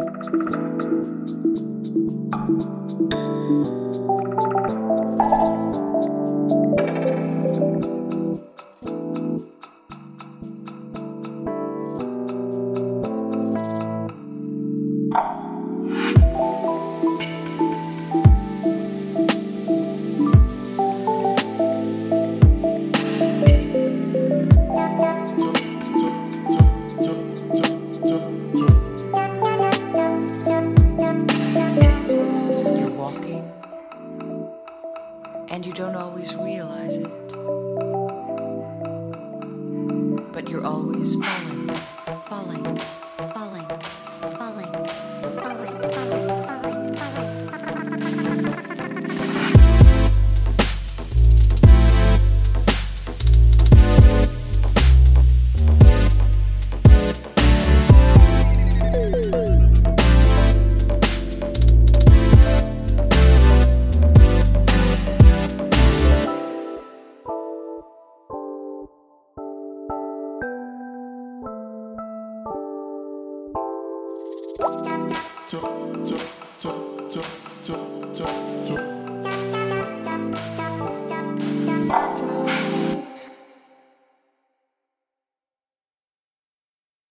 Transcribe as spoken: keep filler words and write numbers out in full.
And you don't always realize it, but you're always falling, falling, falling, falling, falling, falling, falling, falling. Chop, chop, chop, chop, chop, chop, chop.